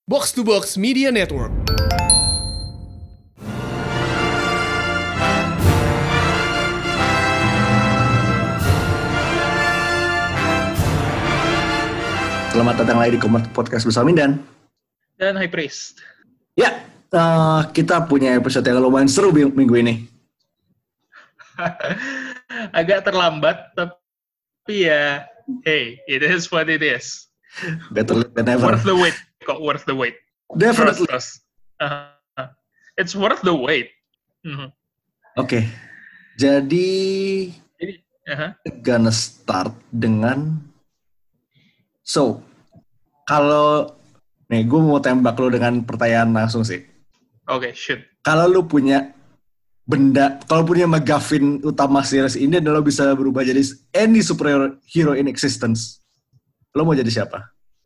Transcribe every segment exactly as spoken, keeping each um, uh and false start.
Box to Box Media Network. Selamat datang lagi di podcast bersama Mindan dan High Priest. Ya, uh, kita punya episode yang lumayan seru minggu ini. Agak terlambat, tapi ya, hey, it is what it is. Better late than never. Worth the wait, kok worth the wait. Definitely. Trust us. Uh, it's worth the wait. Mm-hmm. Oke, okay. Jadi, Jadi uh-huh. gonna start dengan, so, kalau, nih gue mau tembak lo dengan pertanyaan langsung sih. Oke, okay, shoot. Kalau lo punya benda, kalau punya MacGuffin utama series ini dan lo bisa berubah jadi any superhero in existence, lo mau jadi siapa?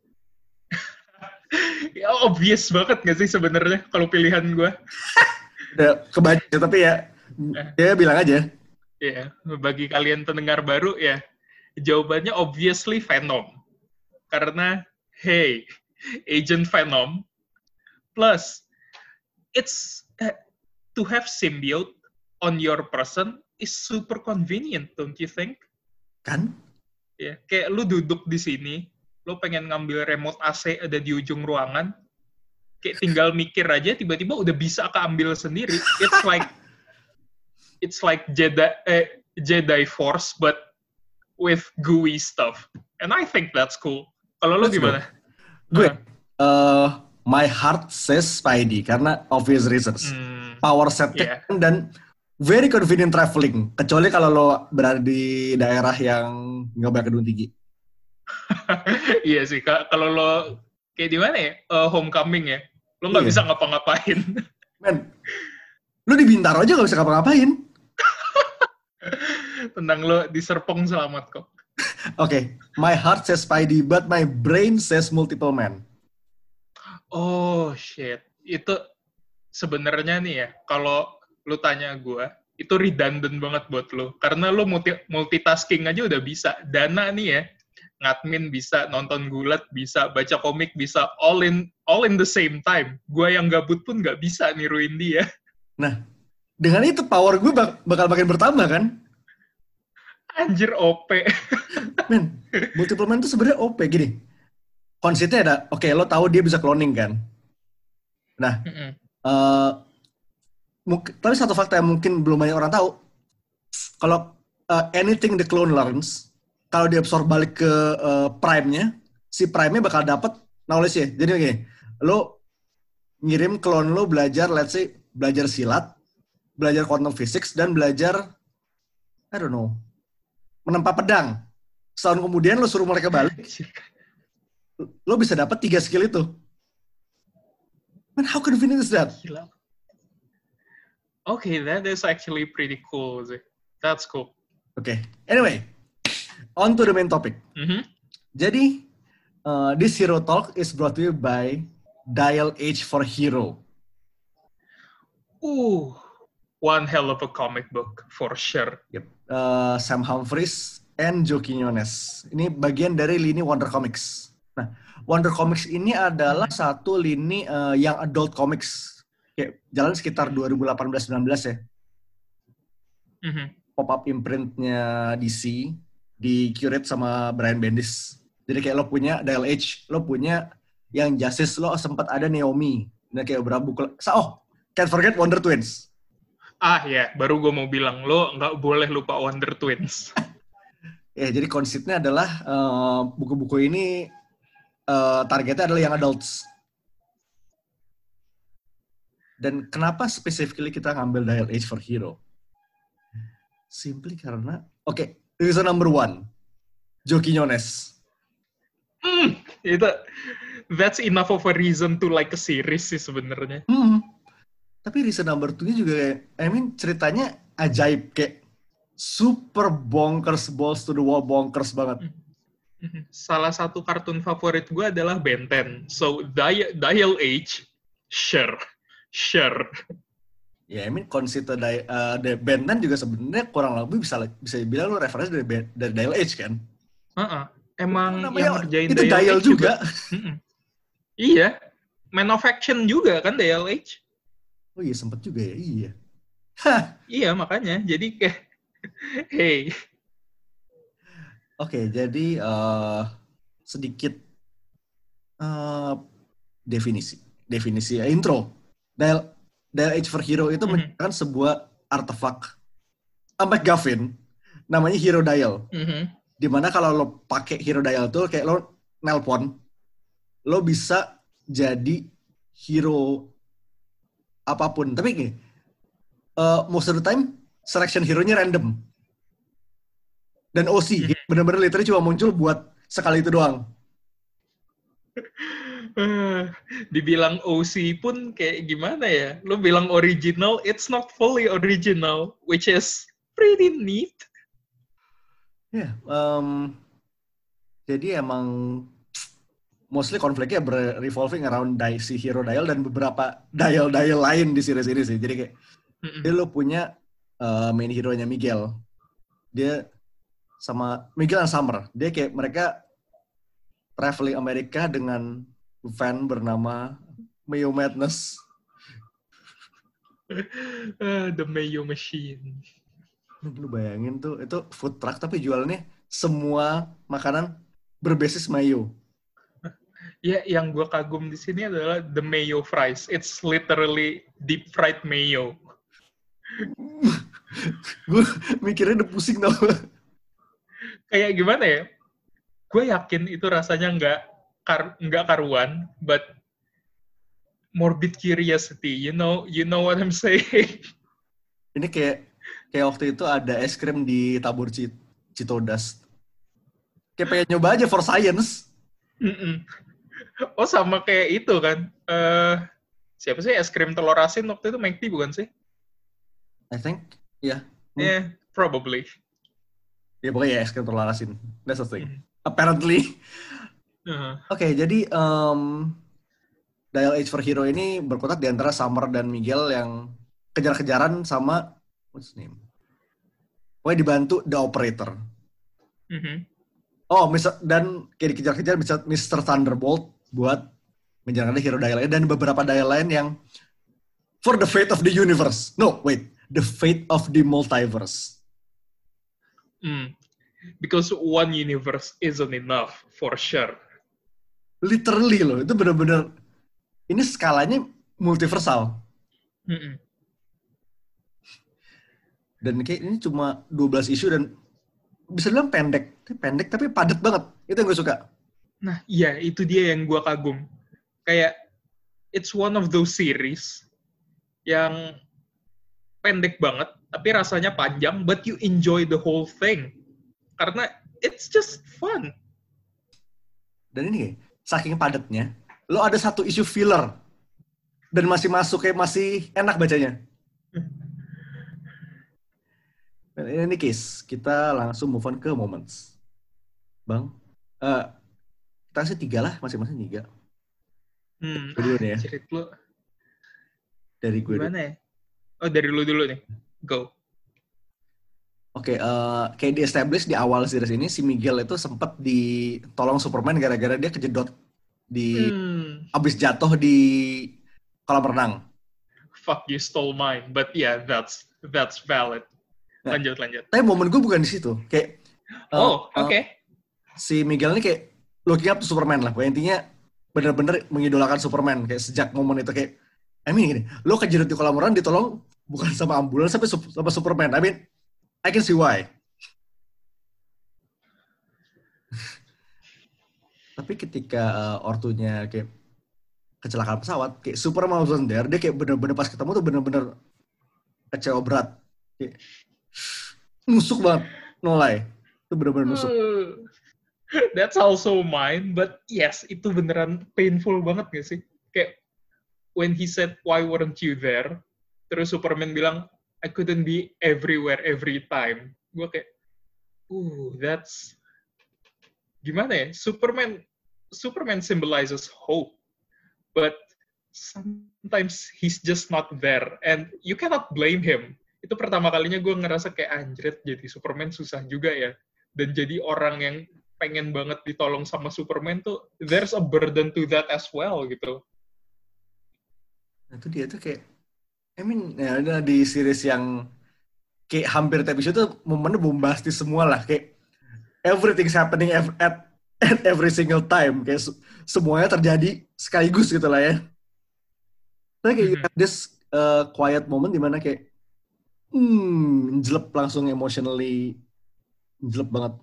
Ya, obvious banget gak sih sebenarnya kalau pilihan gue? Udah kebaca, tapi ya, ya bilang aja. Ya, bagi kalian pendengar baru ya, jawabannya obviously Venom. Karena, hey, Agent Venom, plus, it's, uh, to have symbiote on your person is super convenient, don't you think? Kan? Ya, kayak lu duduk di sini, lu pengen ngambil remote A C ada di ujung ruangan, kayak tinggal mikir aja, tiba-tiba udah bisa keambil sendiri. It's like, it's like Jedi, eh, Jedi Force, but with gooey stuff. And I think that's cool. Kalau lu gimana? Gue, uh, my heart says Spidey, karena obvious reasons. Hmm, Power setnya yeah. dan very convenient traveling. Kecuali kalau lo berada di daerah yang nggak banyak gedung tinggi. Iya sih, kalau lo kayak di mana ya, uh, homecoming ya, lo nggak iya. bisa ngapa-ngapain. Men, lo di Bintaro aja nggak bisa ngapa-ngapain. Tentang lo di Serpong selamat kok. Oke, okay. My heart says Spidey, but my brain says multiple man. Oh shit, itu sebenarnya nih ya, kalau lo tanya gue, itu redundant banget buat lo, karena lo multi multitasking aja udah bisa. Dana nih ya, ngadmin bisa, nonton gulat bisa, baca komik bisa, all in all in the same time. Gue yang gabut pun nggak bisa niruin dia. Nah, dengan itu power gue bak bakal makin bertambah kan? Anjir O P. Men, multiple man itu sebenarnya O P gini. Konsepnya ada, oke okay, lo tahu dia bisa cloning kan? Nah, mm-hmm. uh, mungkin, tapi satu fakta yang mungkin belum banyak orang tahu, kalau uh, anything the clone learns, kalau dia absorb balik ke uh, prime-nya, si prime-nya bakal dapat knowledge-nya. Jadi gini, lo ngirim clone lo belajar, let's say, belajar silat, belajar quantum physics, dan belajar, I don't know, menempa pedang. Setahun kemudian lo suruh mereka balik, lo bisa dapat tiga skill itu. Man, how convenient is that? Gila. Okay, that is actually pretty cool. That's cool. Okay. Anyway, on to the main topic. Mm-hmm. Jadi, uh, this Hero Talk is brought to you by Dial H for Hero. Ooh, one hell of a comic book for sure. Yep. Uh, Sam Humphries and Joe Quinones. Ini bagian dari lini Wonder Comics. Nah, Wonder Comics ini adalah satu lini uh, yang adult comics. Kayak jalan sekitar dua ribu delapan belas sembilan belas ya. Mm-hmm. Pop-up imprint-nya D C di curate sama Brian Bendis. Jadi kayak lo punya Dial H, lo punya yang Justice, lo sempat ada Naomi. Nah kayak beberapa buku. Oh, can't forget Wonder Twins. Ah ya, baru gue mau bilang, lo nggak boleh lupa Wonder Twins. Ya, jadi konsepnya adalah uh, buku-buku ini uh, targetnya adalah yang adults. Dan kenapa specifically kita ngambil Dial H for Hero? Simply karena, oke, okay, reason number one, Joe Quinones. Mm, itu, that's enough of a reason to like a series sih sebenarnya. Hmm. Tapi reason number two-nya juga, I mean, ceritanya ajaib, kayak super bonkers, balls to the wall, bonkers banget. Salah satu kartun favorit gue adalah Ben ten. So, Dial, Dial H, sure. Sure. Ya, I mean, konsep dari uh, Ben ten juga sebenarnya kurang lebih bisa bisa dibilang lo referensi dari, dari Dial H kan? Uh-uh. Emang namanya, yang ngerjain itu Dial, Dial H juga. juga. Iya. Man of Action juga kan D L H. Oh iya sempet juga ya, iya. Iya makanya, jadi kayak, hey. Oke, okay, jadi uh, sedikit uh, definisi, definisi uh, intro. Dial, Dial H for Hero itu mm-hmm. merupakan sebuah artefak uh, McGuffin, namanya Hero Dial. Mm-hmm. Dimana kalau lo pakai Hero Dial tuh kayak lo nelpon, lo bisa jadi hero apapun. Tapi gini, uh, most of the time selection hero-nya random. Dan O C, mm-hmm. bener-bener literally cuma muncul buat sekali itu doang. Dibilang O C pun kayak gimana ya? Lo bilang original, it's not fully original, which is pretty neat. Ya, yeah, um, jadi emang mostly konfliknya revolving around di- si Hero Dial dan beberapa dial-dial lain di series ini sih. Jadi kayak, mm-hmm. dia lo punya uh, main hero-nya Miguel. Dia sama Miguel dan Summer. Dia kayak mereka traveling Amerika dengan van bernama Mayo Madness. uh, the Mayo Machine. Lu bayangin tuh, itu food truck tapi jualnya semua makanan berbasis mayo. Ya, yang gue kagum di sini adalah the mayo fries. It's literally deep fried mayo. Gue mikirnya udah pusing tau. Kayak gimana ya? Gue yakin itu rasanya nggak kar nggak karuan, but morbid curiosity. You know, you know what I'm saying? Ini kayak kayak waktu itu ada es krim di tabur Citodas. Kayak pengen nyoba aja for science. Mm-mm. Oh sama kayak itu kan? Uh, siapa sih es krim telur asin waktu itu M C D bukan sih? I think, yeah. Hmm. Yeah, probably. Ya pokoknya es krim telur asin. That's the thing. Mm. Apparently. Uh-huh. Oke, okay, jadi um, Dial H for Hero ini berkutat di antara Summer dan Miguel yang kejar-kejaran sama what's his name? Pokoknya dibantu The Operator. Mm-hmm. Oh, mister dan kayak dikejar-kejar mister Thunderbolt buat menjalankan Hero Dial dan beberapa dial lain yang for the fate of the universe. No, wait. The fate of the multiverse. Mm. Because one universe isn't enough, for sure. Literally loh, itu benar-benar ini skalanya multiversal. Mm-mm. Dan kayak ini cuma dua belas isu dan bisa dibilang pendek. Pendek tapi padat banget. Itu yang gue suka. Nah, iya, itu dia yang gue kagum. Kayak, it's one of those series yang pendek banget, tapi rasanya panjang, but you enjoy the whole thing. Karena it's just fun. Dan ini saking padatnya, lo ada satu isu filler dan masih masuk kayak masih enak bacanya. Dan ini case, kita langsung move on ke moments. Bang, uh, kita kasih tiga lah, masing-masing tiga. Hmm, dulu nih ya. Cerit lu. Dari gue Gimana dulu. Ya? Oh, dari lu dulu nih. Go. Oke, okay, uh, kayak di-establish di awal series ini, si Miguel itu sempat ditolong Superman gara-gara dia kejedot di hmm. abis jatuh di kolam renang. Fuck, you stole mine. But yeah, that's that's valid. Nah, lanjut, lanjut. Tapi momen gue bukan di situ. Kayak, uh, oh, oke. Okay. Uh, si Miguel ini kayak looking up to Superman lah. Pokoknya intinya bener-bener mengidolakan Superman. Kayak sejak momen itu kayak, I mean gini, lo kejedot di kolam renang ditolong bukan sama ambulans, tapi sama Superman. I mean, I can see why. Tapi ketika uh, ortunya kayak kecelakaan pesawat, kayak Superman wasn't there, dia kayak bener-bener pas ketemu tuh bener-bener kecewa berat. Kayak, nusuk banget, no lie. Itu bener-bener nusuk. Uh, that's also mine, but yes, itu beneran painful banget gak sih? Kayak, when he said, why weren't you there? Terus Superman bilang, I couldn't be everywhere every time. Gue kayak, uh, that's gimana ya? Superman, Superman symbolizes hope, but sometimes he's just not there, and you cannot blame him. Itu pertama kalinya gue ngerasa kayak anjrit, jadi Superman susah juga ya. Dan jadi orang yang pengen banget ditolong sama Superman tuh, there's a burden to that as well gitu. Itu dia tuh kayak, I mean, ya ada di series yang kayak hampir tiap episode tuh momennya bombastis semua lah, kayak everything's happening at, at every single time, kayak semuanya terjadi sekaligus gitu lah ya. Tapi kayak you have this uh, quiet moment dimana kayak, hmm, jelep langsung emotionally, jelep banget.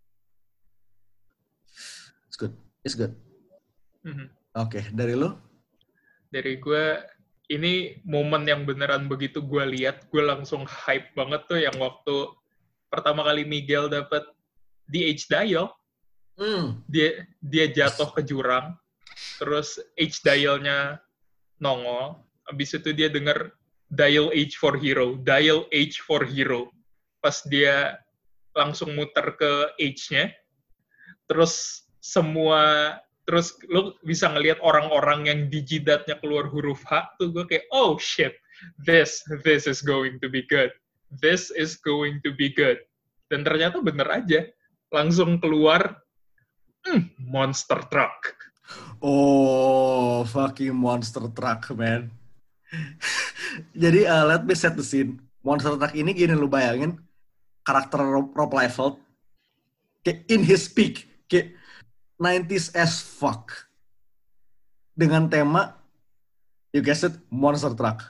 It's good, it's good. Mm-hmm. Oke, okay, dari lo? Dari gue, ini momen yang beneran begitu gue lihat, gue langsung hype banget tuh yang waktu pertama kali Miguel dapat di H-Dial, mm. dia dia jatuh ke jurang, terus H-Dial-nya nongol, abis itu dia dengar dial H for hero, dial H for hero, pas dia langsung muter ke H-nya, terus semua terus lo bisa ngelihat orang-orang yang di jidatnya keluar huruf H, tuh gue kayak, oh shit, this, this is going to be good. This is going to be good. Dan ternyata bener aja. Langsung keluar, mm, monster truck. Oh, fucking monster truck, man. Jadi, uh, let me set the scene. Monster truck ini gini, lu bayangin, karakter Rob, Rob Liefeld, kayak in his peak, kayak nineties as fuck. Dengan tema, you guessed it, monster truck.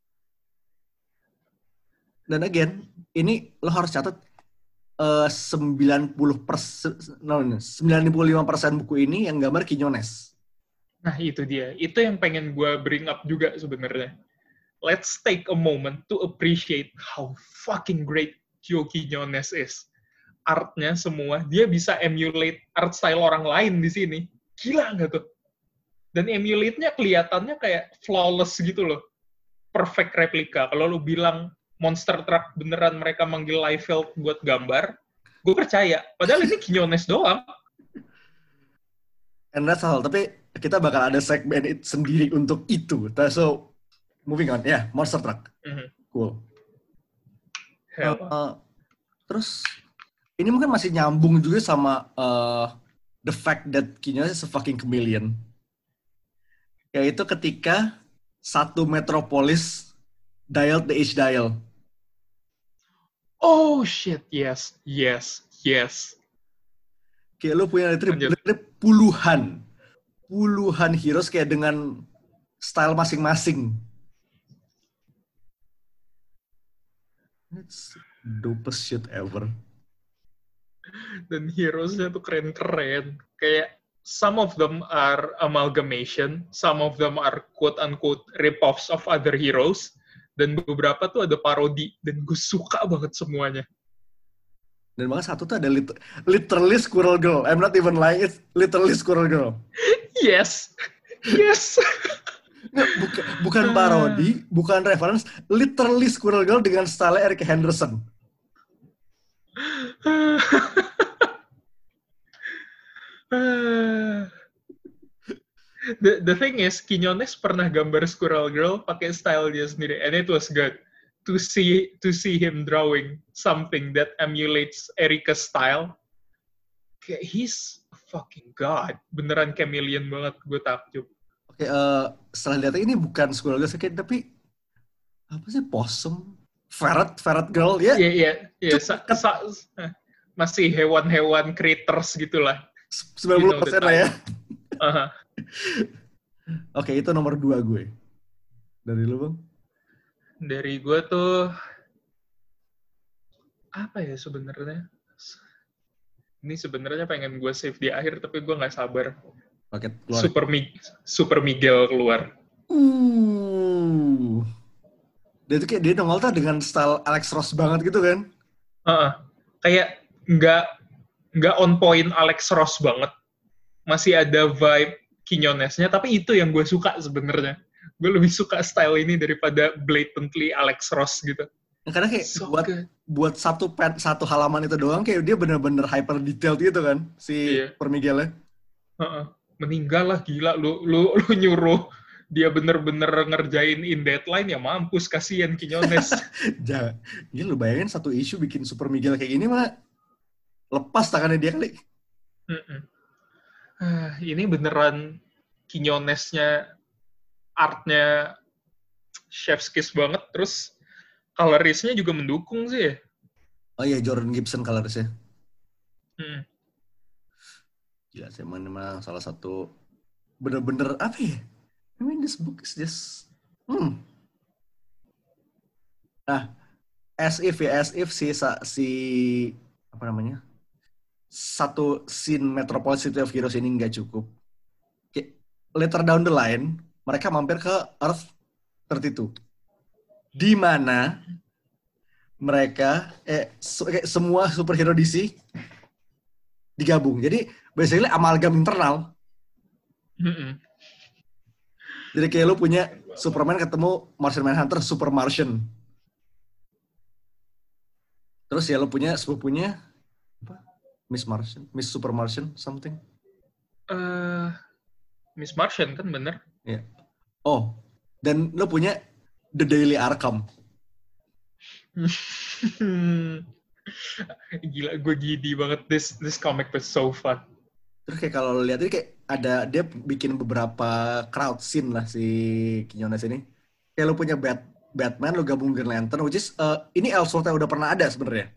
Dan again, ini lo harus catat, uh, sembilan puluh persen, no, sembilan puluh lima persen buku ini yang gambar Quiñones. Nah itu dia, itu yang pengen gue bring up juga sebenarnya. Let's take a moment to appreciate how fucking great Joe Quiñones is. Artnya semua, dia bisa emulate art style orang lain di sini. Gila nggak tuh? Dan emulate-nya kelihatannya kayak flawless gitu loh. Perfect replika. Kalau lu bilang monster truck beneran mereka manggil Liefeld buat gambar, gue percaya. Padahal ini Quiñones doang. And that's all. Tapi kita bakal ada segmen it sendiri untuk itu. So, moving on. Ya, yeah, monster truck. Mm-hmm. Cool. Uh, uh, terus, ini mungkin masih nyambung juga sama uh, the fact that Quiñones is a fucking chameleon. Yaitu ketika satu metropolis dialed the H-dial. Oh shit, yes, yes, yes. Kayak lo punya literally puluhan, puluhan heroes kayak dengan style masing-masing. It's dopest shit ever. Dan heroes-nya tuh keren-keren. Kayak some of them are amalgamation, some of them are quote-unquote rip-offs of other heroes, dan beberapa tuh ada parodi, dan gue suka banget semuanya. Dan bahkan satu tuh ada lit- literally Squirrel Girl. I'm not even lying, it's literally Squirrel Girl. Yes, yes. Nggak, buka, bukan parodi, bukan reference, literally Squirrel Girl dengan style Eric Henderson. the the thing is, Quiñones pernah gambar Squirrel Girl pakai style dia sendiri, and it was good to see to see him drawing something that emulates Erika's style. Kayak he's a fucking god, beneran chameleon banget, gue takjub. Oke, okay, uh, setelah lihat ini bukan Squirrel Girl, kayak tapi apa sih possum? Ferret, ferret girl, ya? Iya, iya, iya. Masih hewan-hewan critters gitulah. sembilan puluh persen lah ya. Uh-huh. Oke, okay, itu nomor dua gue. Dari lu, Bang? Dari gue tuh apa ya sebenarnya? Ini sebenarnya pengen gue save di akhir, tapi gue nggak sabar. Oke, keluar. Super, Mi- Super Miguel keluar. Uh. Dia tuh kayak dia nongol tuh dengan style Alex Ross banget gitu kan? Uh-uh. Kayak nggak nggak on point Alex Ross banget. Masih ada vibe Quiñones-nya, tapi itu yang gue suka sebenarnya. Gue lebih suka style ini daripada blatantly Alex Ross gitu. Nah, karena kayak so buat good. buat satu pen, satu halaman itu doang kayak dia bener-bener hyper detailed gitu kan si yeah. Per Miguel-nya. Uh-uh. Meninggal lah gila lu lu lu nyuruh dia bener-bener ngerjain in deadline, ya mampus, kasihan Quiñones. Jangan. Gila, lu bayangin satu isu bikin Super Miguel kayak gini mah lepas tangannya dia kali. Uh, ini beneran Quiñones-nya, artnya chef's kiss banget, terus colorisnya juga mendukung sih ya. Oh iya, Jordan Gibson colorisnya. Hmm. Gila sih, memang salah satu bener-bener apa ya? I mean this book is just hmm. Nah, as if ya, as if si si apa namanya? Satu scene Metropolis City of Heroes ini nggak cukup. Kayak later down the line, mereka mampir ke Earth tiga puluh dua. Di mana mereka eh su- kayak semua superhero D C digabung. Jadi basically amalgam internal. Mm-mm. Jadi kayak lu punya Superman ketemu Martian Manhunter, Super Martian. Terus ya lu punya sepupunya apa? Miss Martian, Miss Super Martian, something. Uh, Miss Martian kan bener? Ya. Yeah. Oh, dan lu punya The Daily Arkham. Gila, gue gidi banget. This this comic was so fun. Terus kayak kalau lihat ini kayak ada dia bikin beberapa crowd scene lah si Quinones ini. Kayak lu punya Bat, Batman, lu gabung Green Lantern, which is uh, ini Elseworld yang udah pernah ada sebenarnya.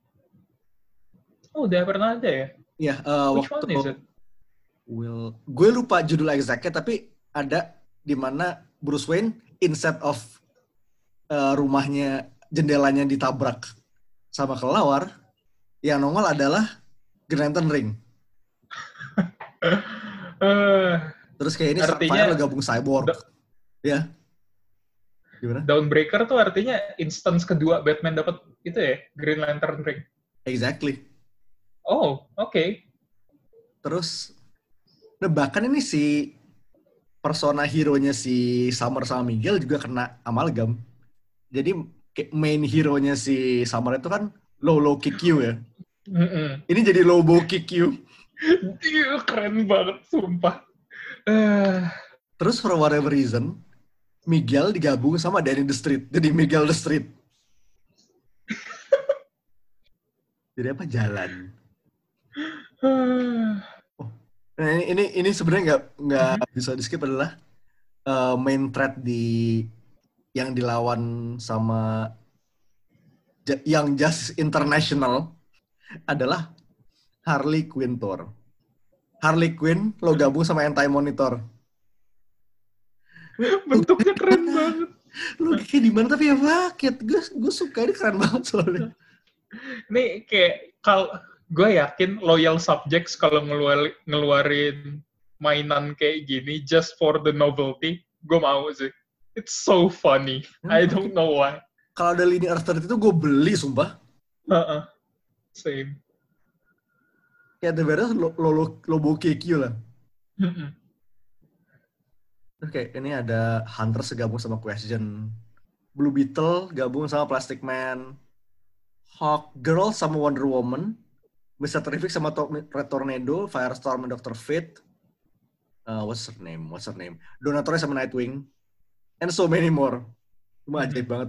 Oh, udah pernah ada ya? Iya, uh, Which waktu one is it? Will, gue lupa judul exactnya, tapi ada di mana Bruce Wayne instead of uh, rumahnya jendelanya ditabrak sama kelelawar, yang nongol adalah Green Lantern Ring. uh, Terus kayak ini artinya Sapphire gabung Cyborg. Da- ya. Gimana? Dawnbreaker tuh artinya instance kedua Batman dapat itu ya, Green Lantern Ring. Exactly. Oh, oke. Okay. Terus, nah bahkan ini si persona hero-nya si Summer sama Miguel juga kena amalgam. Jadi main hero-nya si Summer itu kan low low kick you ya. Mm-mm. Ini jadi low bow kick you. Iya, keren banget, sumpah. Uh. Terus for whatever reason, Miguel digabung sama Danny the Street. Jadi Miguel the Street. Jadi apa? Jalan. Oh, nah ini ini, ini sebenarnya nggak nggak mm-hmm. bisa di skip adalah uh, main thread di yang dilawan sama Young Justice International adalah Harley Quinn Thor. Harley Quinn lo gabung sama Anti-Monitor. Bentuknya keren banget. Lo kayak di mana tapi ya paket. Gue gue suka ini keren banget soalnya. Nih kayak kalau gue yakin loyal subjects kalau ngeluarin, ngeluarin mainan kayak gini just for the novelty, gue mau sih. It's so funny. Hmm, I don't know why. Kalau ada lini Earth itu gue beli sumpah. Uh-uh. Same. Kayak the beres lo lo lobo K Q lah. Mm-mm. Oke, okay, ini ada Hunter segabung sama Question. Blue Beetle gabung sama Plastic Man. Hawk Girl sama Wonder Woman. mister Terrific sama Red Tornado, Firestorm dan Doctor Fate. Uh, what's her name? What's her name? Donator sama Nightwing. And so many more. Cuma ajaib banget.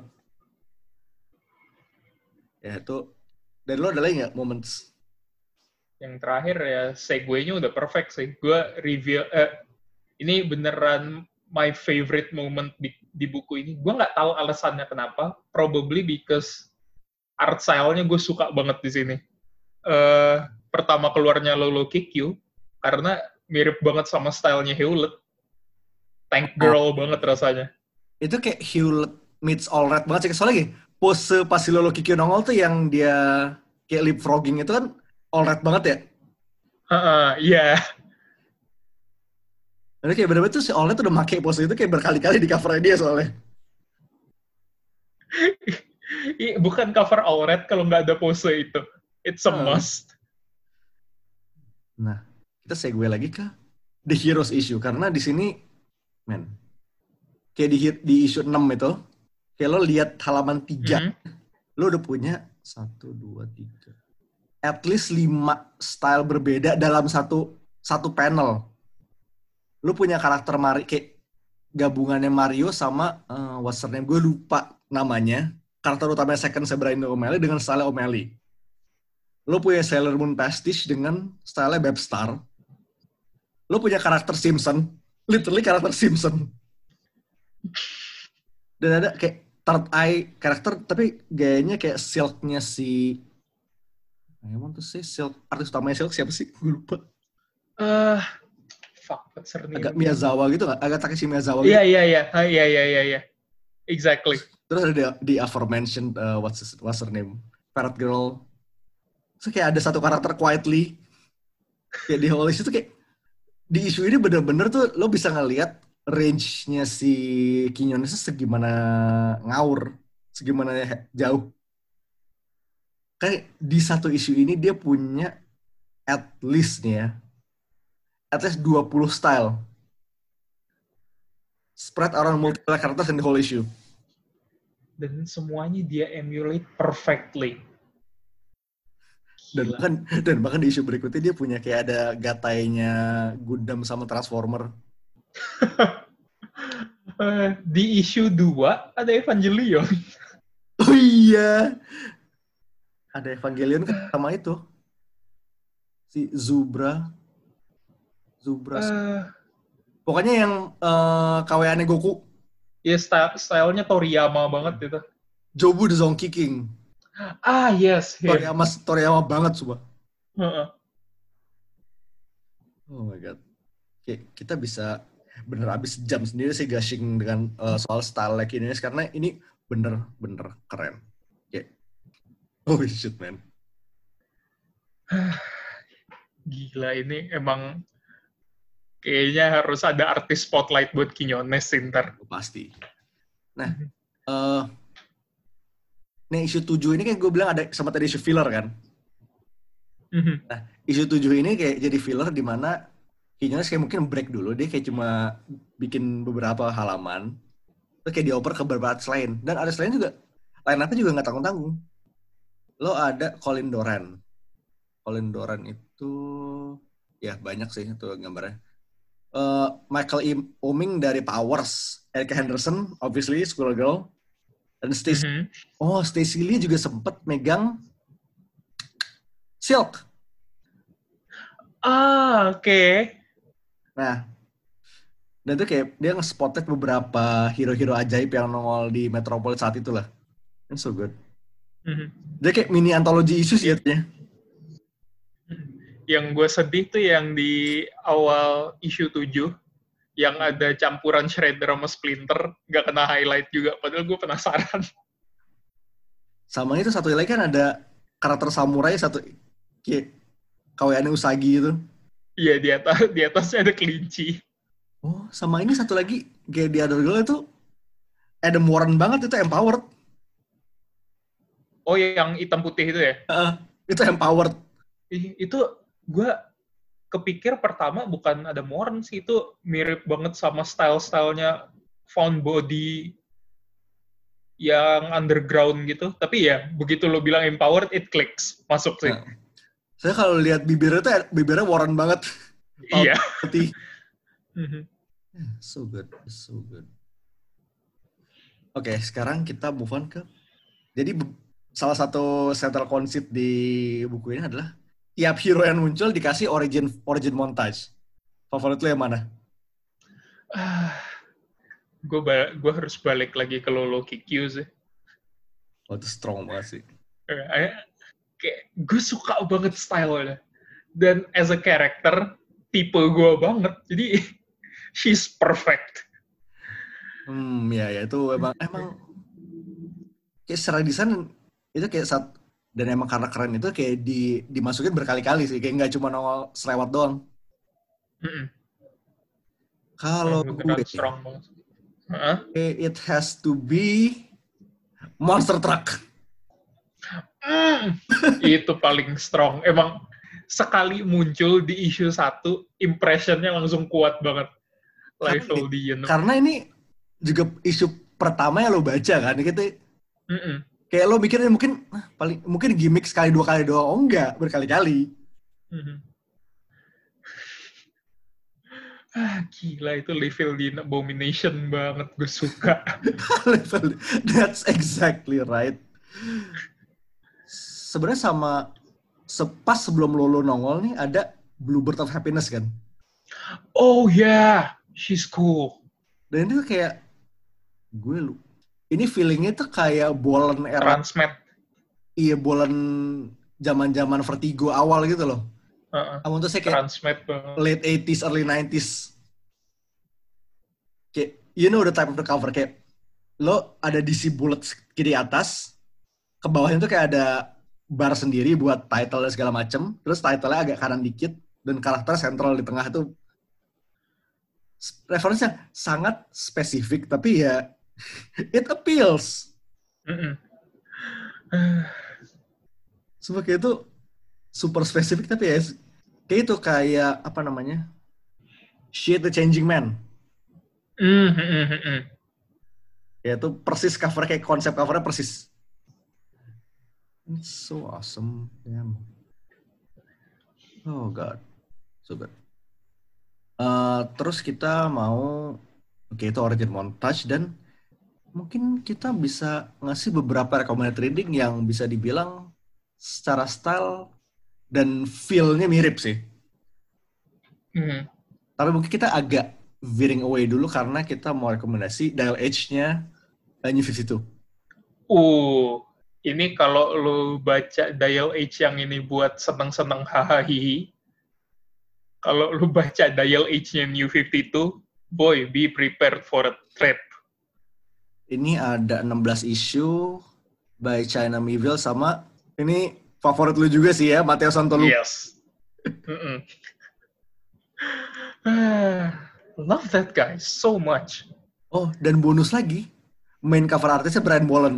Ya itu. Dan lo ada lagi nggak moments? Yang terakhir ya, segue-nya udah perfect sih. Gue review, eh, ini beneran my favorite moment di, di buku ini. Gue nggak tahu alasannya kenapa. Probably because art style-nya gue suka banget di sini. Uh, pertama keluarnya Lolo Kick You, karena mirip banget sama stylenya Hewlett. Tank Girl oh. banget rasanya. Itu kayak Hewlett meets All Right banget sih. Soalnya gini, pose pas si Lolo Kick You nongol tuh yang dia kayak leapfrogging itu kan All Right banget ya? Heeh, iya. Jadi kayak bener-bener tuh si All Right udah make pose itu kayak berkali-kali di cover dia soalnya. Bukan cover All Right kalau nggak ada pose itu. It's a must. Nah, kita segue lagi ke The Heroes issue. Karena di sini, men, kayak di, di issue enam itu, kayak lo lihat halaman tiga, mm-hmm. lo udah punya satu, dua, tiga. At least lima style berbeda dalam satu satu panel. Lo punya karakter Mario, kayak gabungannya Mario sama, uh, what's her name, gue lupa namanya. Karakter utamanya Second Sabrina O'Malley dengan style O'Malley. Lo punya Sailor Moon Pastiche dengan style Babstar. Lo punya karakter Simpson, literally karakter Simpson. Dan ada kayak third eye karakter, tapi gayanya kayak Silk-nya si... Emang tuh sih Silk, artis utamanya Silk siapa sih? Gue lupa. Eh, uh, fuck, what's her name? Agak Miyazawa gitu nggak? Agak Takeshi Miyazawa gitu. Iya, iya, iya. Iya, iya, iya, iya. Exactly. Terus ada di, di aforementioned, uh, what's, his, what's her name? Parrot Girl. Terus kayak ada satu karakter quietly. Kayak di whole issue tuh kayak, di isu ini bener-bener tuh lo bisa ngelihat range-nya si Quinones segimana ngawur, segimana jauh. Kayak di satu isu ini dia punya at least nih ya, at least dua puluh style. Spread around multiple characters in the whole issue. Dan semuanya dia emulate perfectly. Dan bahkan, dan bahkan di isu berikutnya dia punya kayak ada gatainya Gundam sama Transformer. Di isu dua ada Evangelion. Oh iya. Ada Evangelion kan sama itu. Si Zubra. Zubra. Uh, Pokoknya yang uh, K W A-nya Goku. Iya, style, stylenya Toriyama banget itu. Jobu the Zonky King. Ah, yes. Toriyama, yeah. Toriyama banget, sumpah. Uh-uh. Oh my god. Oke, kita bisa bener abis jam sendiri sih gushing dengan uh, soal style like ini, karena ini bener-bener keren. Oke. Oh shit, man. Gila, ini emang kayaknya harus ada artis spotlight buat Quinones ntar. Pasti. Nah, uh, nih isu tujuh ini kan gue bilang ada sempat ada isu filler kan. Mm-hmm. Nah, isu tujuh ini kayak jadi filler di mana Quinones kayak mungkin break dulu, dia kayak cuma bikin beberapa halaman, terus kayak dioper ke beberapa artis lain. Dan artis lain juga, line-up-nya juga nggak tanggung-tanggung. Lo ada Colin Doran. Colin Doran itu, ya banyak sih itu gambarnya. Uh, Michael E. Oeming dari Powers, Erica Henderson, obviously, Squirrel Girl, dan Stacey. Mm-hmm. Oh, Stacey Lee juga sempet megang Silk. Ah, oke. Okay. Nah, dan itu kayak dia nge-spotted beberapa hero-hero ajaib yang nongol di Metropolis saat itu lah. It's so good. Mm-hmm. Dia kayak mini antologi isu sih jatuhnya. Yang gue sedih tuh yang di awal isu tujuh, yang ada campuran Shredder sama Splinter, gak kena highlight juga, padahal gue penasaran. Sama itu satu lagi kan ada karakter samurai satu, kayak K W A-nya Usagi itu. Iya, di atas di atasnya ada kelinci. Oh, sama ini satu lagi kayak di Other Girl itu Adam Warren banget, itu empowered. Oh, yang hitam putih itu ya? Uh, itu empowered. Itu gue kepikir pertama bukan Adam Warren sih, itu mirip banget sama style-stylenya Found Body yang underground gitu. Tapi ya, begitu lo bilang empowered, it clicks. Masuk sih. Nah. Saya kalau lihat bibirnya tuh bibirnya Warren banget. Iya. Putih. So good, so good. Oke, okay, sekarang kita move on ke. Jadi salah satu central concept di buku ini adalah tiap hero yang muncul dikasih origin origin montage. Favorit lo yang mana? Uh, gue ba- gue harus balik lagi ke Lolo Kikyu sih. Oh, itu strong banget sih. Uh, Kayak gue suka banget style-nya. Dan as a character, tipe gue banget. Jadi, she's perfect. Hmm, ya, ya. Itu emang, emang kayak secara desain, itu kayak saat, dan emang karena keren itu kayak di, dimasukin berkali-kali sih. Kayak nggak cuma nongol selewat doang. Mm-mm. Kalau gue, strong banget. Uh-huh. It has to be Monster Truck. Mm, itu paling strong. Emang sekali muncul di issue satu, impressionnya langsung kuat banget. Liefeld-Dien. Karena ini juga isu pertama yang lo baca kan, gitu. Mm-mm. Kayak lo mikirnya mungkin ah, paling mungkin gimmick sekali dua kali doang, oh enggak, berkali-kali. Mm-hmm. Ah, gila itu Liefeld-Dien abomination banget, gue suka. That's exactly right. Sebenarnya sama sepas sebelum Lolo nongol nih ada Bluebird of Happiness kan? Oh yeah, she's cool. Dan itu kayak gue lu ini feelingnya tuh kayak Bolan era. Transmet. Iya, Bolan zaman-zaman Vertigo awal gitu loh. Uh-uh. Kamu tuh saya kayak Transmet banget. late eighties, early nineties. Kayak, you know the type of the cover. Kayak, lo ada D C bullets kiri atas, ke bawahnya tuh kayak ada bar sendiri buat title dan segala macem. Terus title-nya agak kanan dikit, dan karakter sentral di tengah tuh referensinya sangat spesifik, tapi ya it appeals. Mm-mm. Sebagai itu super spesifik, tapi ya kayak itu kayak apa namanya? Shit the Changing Man. Mm-hmm. Ya itu persis cover, kayak konsep covernya persis. It's so awesome. Damn. Oh god. So good. Uh, terus kita mau oke okay, itu origin montage, dan mungkin kita bisa ngasih beberapa recommended reading yang bisa dibilang secara style dan feel-nya mirip sih. Mm-hmm. Tapi mungkin kita agak veering away dulu karena kita mau rekomendasi Dial H-nya New fifty-two. Uh, ini kalau lu baca Dial H yang ini buat seneng-seneng hahaha. Kalau lu baca Dial H-nya New fifty-two, boy, be prepared for a trap. Ini ada enam belas issue by China Miéville, sama ini favorit lu juga sih ya, Matteo Santolu. Yes. Love that guy so much. Oh, dan bonus lagi, main cover artisnya Brian Boland.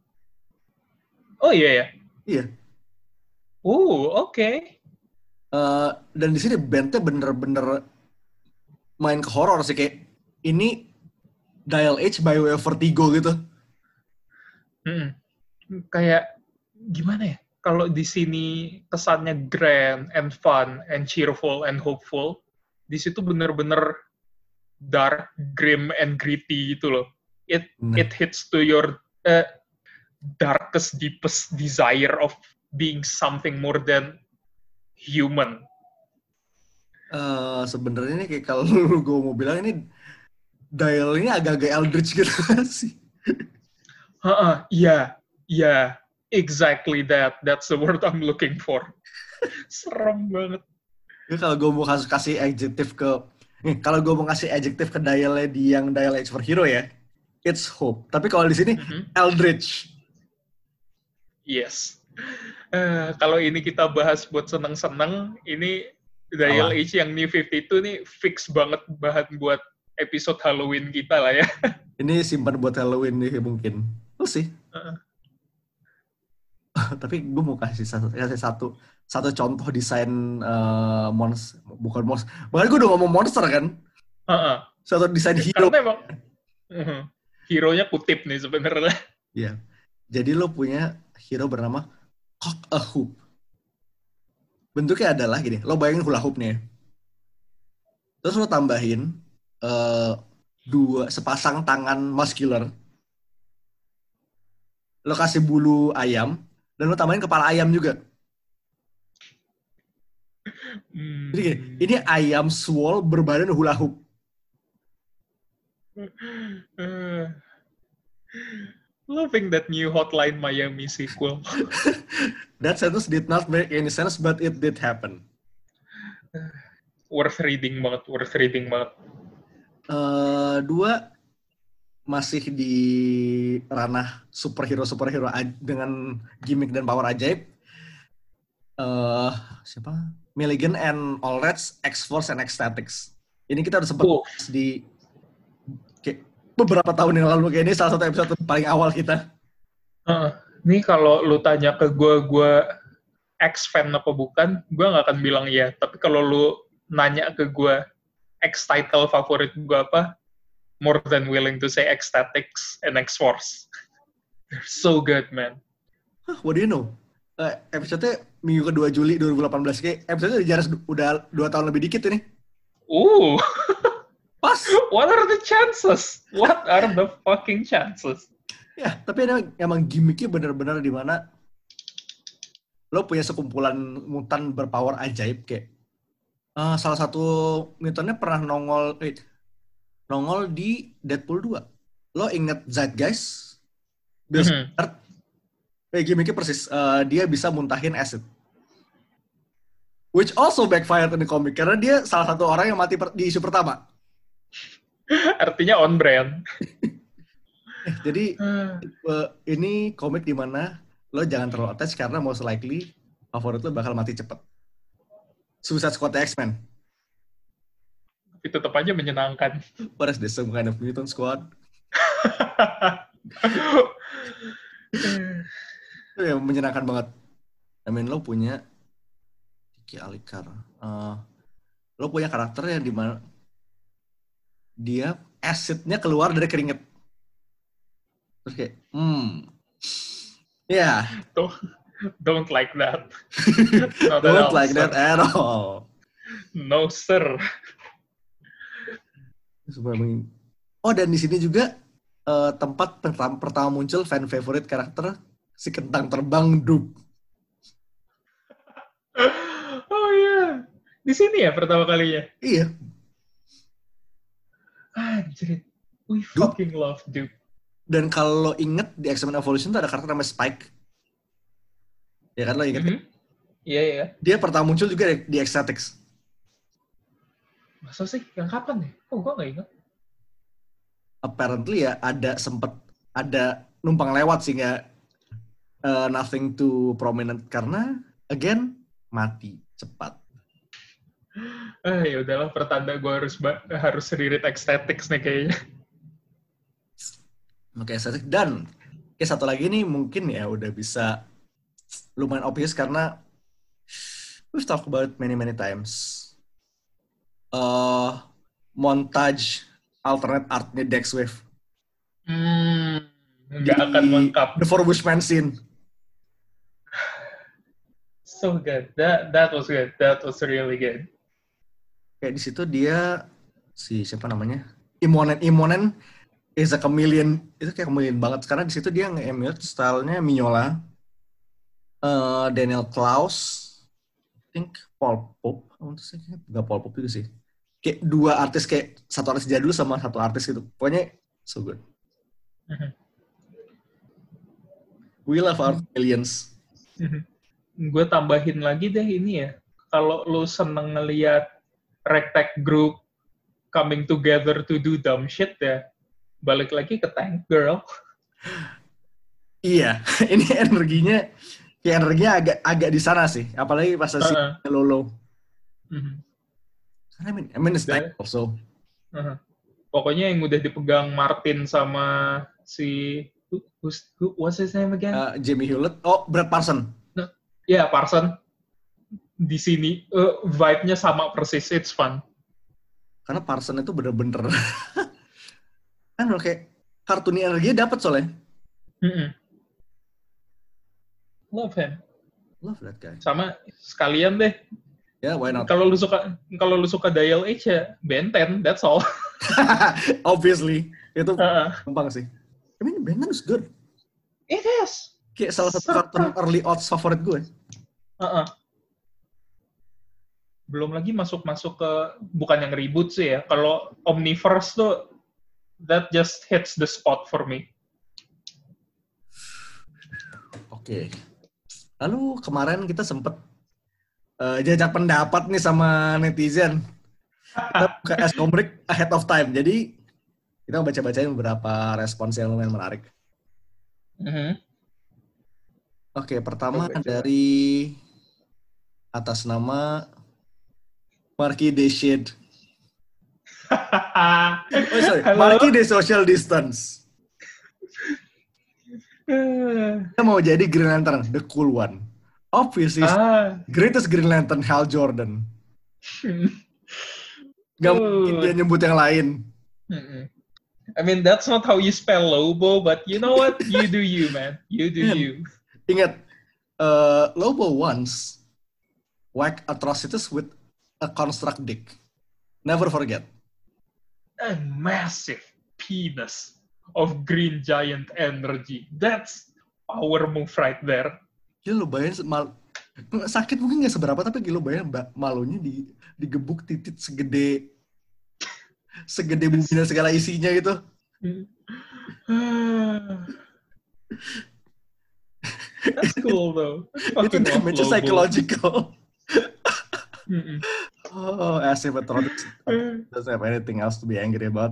Oh iya ya? Iya. Oh, oke. Okay. Uh, dan di sini bandnya bener-bener main ke horor sih, kayak ini Dial H by way of Vertigo gitu. Hmm. Kayak gimana ya? Kalau di sini kesannya grand and fun and cheerful and hopeful, di situ bener-bener dark, grim and gritty gitu loh. It nah. it hits to your uh, darkest, deepest desire of being something more than human. Uh, Sebenarnya ini kayak kalau gue mau bilang ini Dial ini agak-agak eldritch gitu sih. Heeh, iya, iya, exactly that. That's the word I'm looking for. Serem banget. Ya, kalau gue mau kasih, kasih adjective ke, nih, kalau gue mau kasih adjective ke Dialnya di yang Dial H for Hero ya, it's hope. Tapi kalau di sini mm-hmm. eldritch. Yes. Uh, kalau ini kita bahas buat seneng-seneng, ini Dial H yang New fifty-two nih fix banget bahan buat episode Halloween kita lah ya. Ini simpan buat Halloween nih mungkin. We'll see. Uh-uh. Tapi gue mau kasih satu, kasih satu, satu contoh desain uh, monster, bukan monster. Bahkan gue udah ngomong monster kan. Uh-uh. Satu desain hero. Karena emang uh-huh. hero-nya kutip nih sebenarnya. Iya. Jadi lo punya hero bernama Cock a Hoop. Bentuknya adalah gini, lo bayangin hula hoop nih. Terus lo tambahin uh, dua sepasang tangan muscular. Lo kasih bulu ayam dan lo tambahin kepala ayam juga. Hmm. Jadi gini, ini ayam swole berbadan hula hoop. Uh, loving that new Hotline Miami sequel. That sentence did not make any sense, but it did happen. Worth reading banget, worth reading banget. Uh, dua, masih di ranah superhero-superhero dengan gimmick dan power ajaib. Uh, siapa? Milligan and Allreds, X-Force and X-Statics. Ini kita udah sempat oh. di kayak beberapa tahun yang lalu, kayak ini salah satu episode paling awal kita. Uh. Nih kalau lu tanya ke gue, gue X-fan apa bukan, gue gak akan bilang iya. Tapi kalau lu nanya ke gue, X-title favorit gue apa, more than willing to say X-Statics and X-Force. They're so good, man. Huh, what do you know? Uh, episode-nya minggu kedua Juli dua ribu delapan belas, kayak episode-nya jarak udah dua tahun lebih dikit ini. Uh. Pas. What are the chances? What are the fucking chances? Ya, tapi emang gimmicknya benar-benar di mana lo punya sekumpulan mutan berpower ajaib kayak uh, salah satu mutantnya pernah nongol eh, nongol di Deadpool dua. Lo inget Zeitgeist? Bill Skarsgård, eh, gimmicknya persis, uh, dia bisa muntahin acid. Which also backfired in the comic, karena dia salah satu orang yang mati per- di isu pertama. Artinya on brand. eh, jadi, uh, ini komik di mana lo jangan terlalu attach, karena most likely favorit lo bakal mati cepet. Suicide Squad X-Men. Itu tetap aja menyenangkan. What is this, some kind of mutant squad? Itu ya menyenangkan banget. I mean, lo punya Kiki Alikar. Uh, lo punya karakter yang dimana dia acidnya keluar dari keringet. Terus kayak, hmm, ya. Yeah. Don't, don't like that. Don't like that at all. No, sir. Oh, dan di sini juga uh, tempat pertama, pertama muncul fan favorite karakter si kentang terbang Dub. Oh iya, di sini ya pertama kalinya. Iya. Anjir, we fucking Dub. Love Dub. Dan kalau lo inget di X-Men Evolution tuh ada karakter namanya Spike. Ya kan lo inget? Iya mm-hmm. iya. Yeah, yeah. Dia pertama muncul juga di, di Ecstatics. Masa sih? Yang kapan nih? Oh, gue nggak ingat. Apparently ya ada sempet ada numpang lewat sih nggak uh, nothing too prominent karena again mati cepat. Ah ya udahlah, pertanda gue harus harus reread Ecstatics nih kayaknya. Oke, Ecstatics dan kayak satu lagi nih mungkin ya udah bisa lumayan obvious karena we've talked about it many many times. Uh, montage alternate artnya Dex Wave. Hmm, nggak akan lengkap. The Four Bushmen scene. So good. That that was good. That was really good. Kayak di situ dia si siapa namanya? Imonen Imonen is a chameleon. Itu kayak chameleon banget karena di situ dia nge-emulate stylenya Mignola, uh, Daniel Klaus, I think Paul Pope. Enggak Paul Pope juga sih. Kayak dua artis, kayak satu artis jadul sama satu artis gitu. Pokoknya so good. Mm-hmm. We love our aliens. Mm-hmm. Gue tambahin lagi deh ini ya. Kalau lu seneng ngeliat ragtag group coming together to do dumb shit ya, balik lagi ke Tank Girl. Iya, ini energinya, kayak energinya agak agak di sana sih. Apalagi pas si uh-uh. Lolo. Mm-hmm. I mean, I mean it's Tank also. Uh-huh. Pokoknya yang udah dipegang Martin sama si who, who what's his name again? Uh, Jamie Hewlett. Oh, Brad Parson. Ya, yeah, Parson. Di sini uh, vibe-nya sama persis. It's fun. Karena Parson itu bener-bener kan kayak kartuni energinya dapat soalnya. Mm-mm. Love him. Love that guy. Sama sekalian deh. Ya, yeah, why not? Kalau lu suka kalau lu suka Dial H ya Ben ten, that's all. Obviously. Itu uh-uh. gampang sih. I mean, Ben ten is good. It is. Kayak salah satu kartun early odds favorit gue. Uh-uh. Belum lagi masuk-masuk ke, bukan yang reboot sih ya, kalau Omniverse tuh, that just hits the spot for me. Oke. Okay. Lalu kemarin kita sempet uh, jajak pendapat nih sama netizen. Kita buka S-Comic ahead of time. Jadi, kita baca-bacain beberapa respons yang lumayan menarik. Mm-hmm. Oke, okay, pertama oh, dari atas nama Marquis de Shade. Oh sorry, Marquis de Social Distance. Dia mau jadi Green Lantern, the cool one. Obviously, ah. greatest Green Lantern, Hal Jordan. Gak uh. mungkin dia nyebut yang lain. Mm-mm. I mean, that's not how you spell Lobo, but you know what? You do you, man. You do you. Ingat, uh, Lobo once whack atrocities with a construct dick. Never forget. A massive penis of green giant energy. That's power move right there. Gila lo bayangin, mal- sakit mungkin gak seberapa, tapi gila lo bayangin malunya di, digebuk titit segede segede bumi dan segala isinya gitu. cool though. Itu damage psychological. Mm-mm. Oh, as if a Trotic doesn't have anything else to be angry about.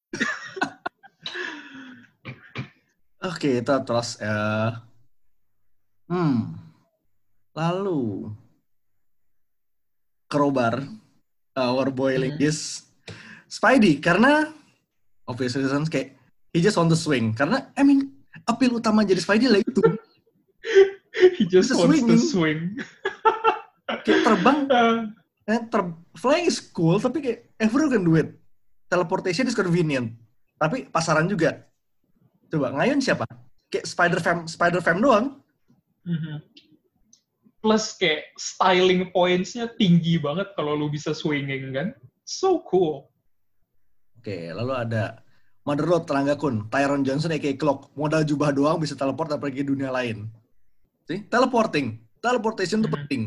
Oke, okay, itu terus. Uh, hmm. Lalu, Crowbar, our boiling mm-hmm. is Spidey. Karena, obvious reasons, kayak, he just want to swing. Karena, I mean, appeal utama jadi Spidey lah itu. He just Bisa wants swinging. to swing. Kayak terbang. Eh, ter- flying is cool, tapi kayak everyone can do it. Teleportation is convenient. Tapi pasaran juga. Coba, ngayon siapa? Kayak Spider-Fam, Spider-Fam doang. Mm-hmm. Plus kayak styling points-nya tinggi banget kalau lu bisa swinging kan. So cool. Oke, lalu ada Mother Lode, Tenaga Kun, Tyron Johnson aka Cloak. Modal jubah doang bisa teleport dan pergi dunia lain. See? Teleporting. Teleportation itu mm-hmm. penting.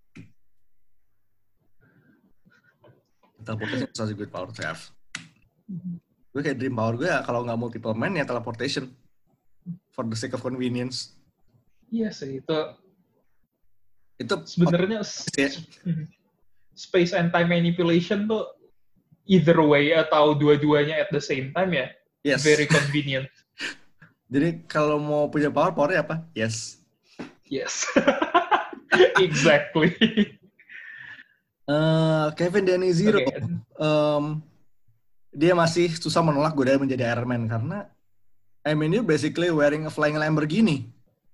Teleportation is such a good power to have. Mm-hmm. Gue kayak dream power gue ya, kalau nggak multiple man ya teleportation. For the sake of convenience. Iya sih, itu itu sebenarnya ya. Space and time manipulation tuh either way atau dua-duanya at the same time ya. Yes. Very convenient. Jadi kalau mau punya power, powernya apa? Yes. Yes. Exactly. Uh, Kevin Danny Zero, okay. um, dia masih susah menolak godaan menjadi Iron Man karena I mean, you're basically wearing a flying Lamborghini.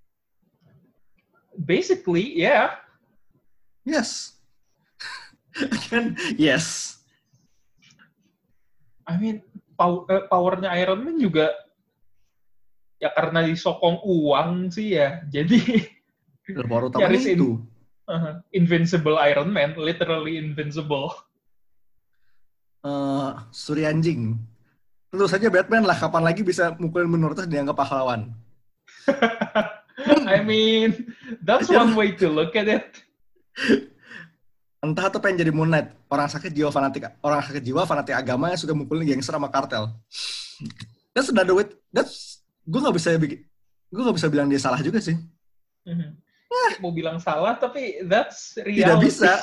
Basically, yeah. Yes. Again, yes. I mean, pow- uh, powernya Iron Man juga ya karena disokong uang sih ya. Jadi power utamanya itu. In- Uh-huh. Invincible Iron Man, literally invincible. Uh, Suri anjing. Tentu saja Batman lah, kapan lagi bisa mukulin minoritas dianggap pahlawan. I mean, that's one way to look at it. Entah tuh pengen jadi Moon Knight, orang sakit jiwa fanatik, orang sakit jiwa fanatik agama yang suka mukulin gangster sama kartel. That's another way. That's, gue nggak bisa bikin, gue nggak bisa bilang dia salah juga sih. Mm-hmm. Mau bilang salah, tapi that's reality. Tidak bisa.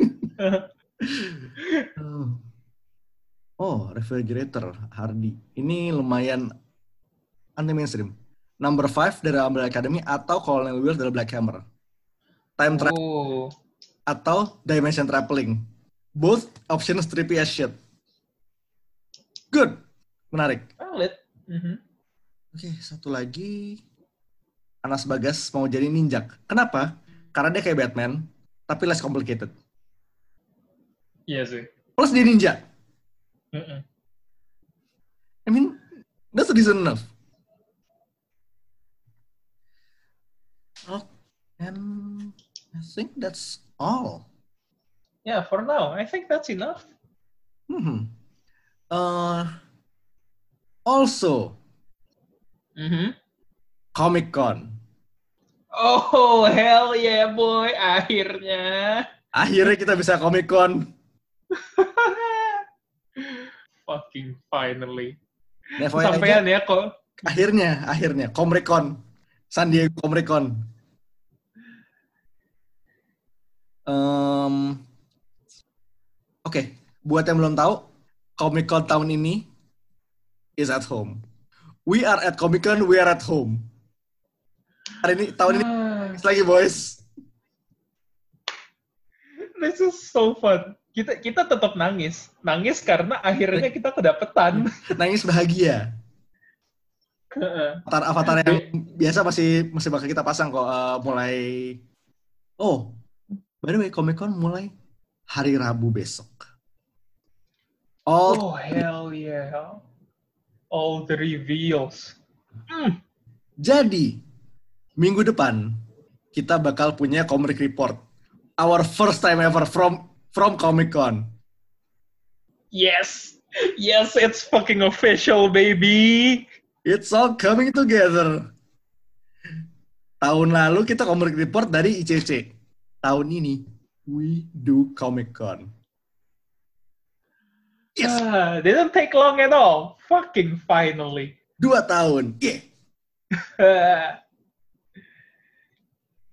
Oh, Refrigerator, Hardy. Ini lumayan anti-mainstream. Number five dari Umbrella Academy atau Colonel Wills dari Black Hammer. Time travel. Oh. Atau Dimension Traveling. Both options trippy as shit. Good. Menarik. Valid. Mm-hmm. Oke, okay, satu lagi. Anas Bagas mau jadi ninja. Kenapa? Karena dia kayak Batman, tapi less complicated. Iya sih. Plus dia ninja. Mm-mm. I mean, that's reason enough. Oh, and I think that's all. Yeah, for now, I think that's enough. Hmm. Uh, also. Mm-hmm. Comic Con. Oh, hell yeah, boy. Akhirnya. Akhirnya kita bisa Comic Con. Fucking finally. Nah, sampean ya kok. Akhirnya, akhirnya. Comic Con. San Diego Comic Con. Um, Oke, okay. Buat yang belum tahu, Comic Con tahun ini is at home. We are at Comic Con, we are at home. Hari ini, tahun ini, ah. lagi boys. This is so fun. Kita kita tetap nangis. Nangis karena akhirnya kita kedapetan. Nangis bahagia. Avatar-avatar yang biasa masih masih bakal kita pasang kok. Uh, mulai, oh, by the way, Comic Con mulai hari Rabu besok. All oh, hell yeah. All the reveals. Mm. Jadi, minggu depan kita bakal punya comic report, our first time ever from from Comic Con. Yes, yes, it's fucking official, baby. It's all coming together. Tahun lalu kita comic report dari I C C. Tahun ini we do Comic Con. Yes. Ah, didn't take long at all. Fucking finally. Dua tahun. Yeah.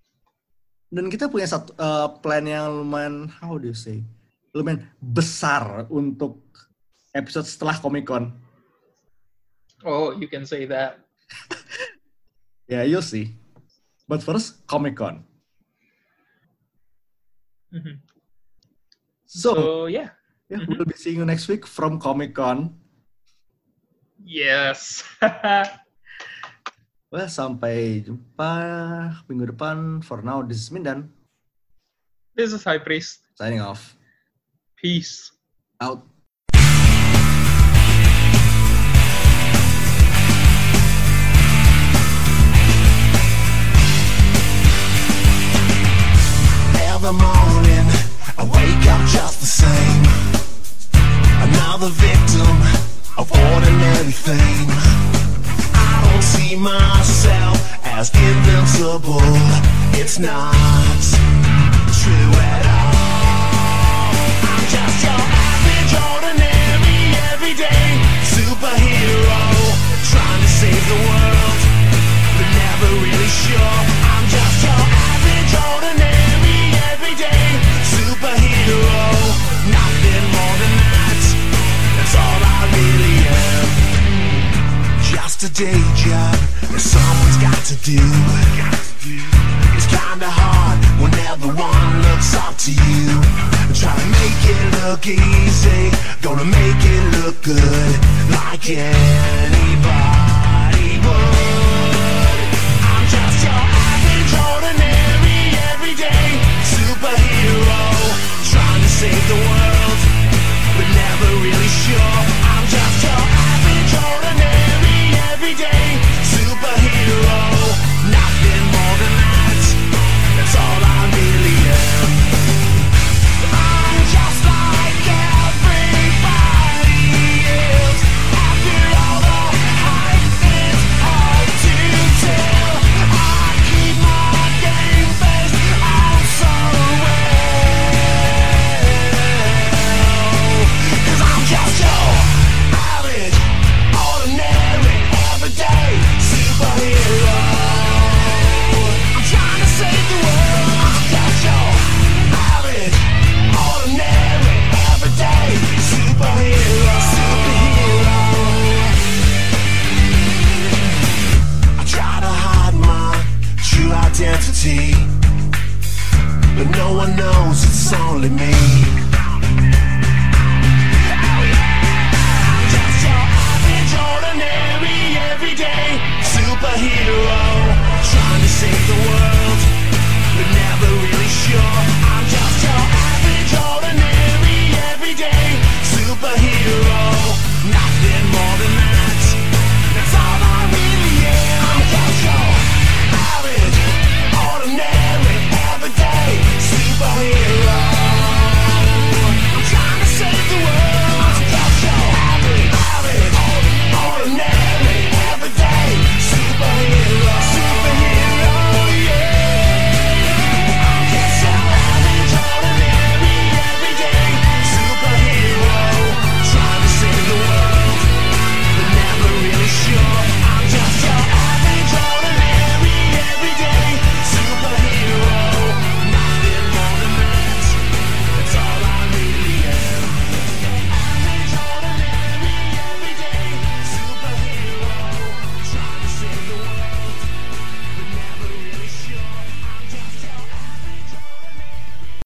dan kita punya satu uh, plan yang lumayan, how do you say, lumayan besar untuk episode setelah Comic Con. Oh, you can say that. Yeah, you'll see. But first, Comic Con. Mm-hmm. So, so, yeah. yeah mm-hmm. We'll be seeing you next week from Comic Con. Yes. Well, sampai jumpa minggu depan. For now, this is Mindan. This is High Priest. Signing off. Peace. Out. Every morning, I wake up just the same. Another victim of ordinary fame. I don't see myself as invincible. It's not true at all. I'm just your average, ordinary, everyday superhero, trying to save the world, but never really sure. I'm just your average, ordinary, everyday superhero, nothing more than that. That's all I really am. Just a day job that someone's got to do. It's kinda hard when everyone looks up to you. Try to make it look easy, gonna make it look good, like anybody would. I'm just your average, ordinary, everyday superhero, trying to save the world, but never really sure. I'm just your average, ordinary, everyday superhero, nothing more than that. That's all I really am. I'm just like everybody else. After all the hype is hard to tell. I keep my game face on so well. 'Cause I'm just your average, ordinary, everyday superhero. I'm trying to save the world. I'm just your average, ordinary, everyday superhero. Superhero. I try to hide my true identity, but no one knows it's only me. Oh yeah, I'm just your average, ordinary, everyday superhero, trying to save the world, but never really sure.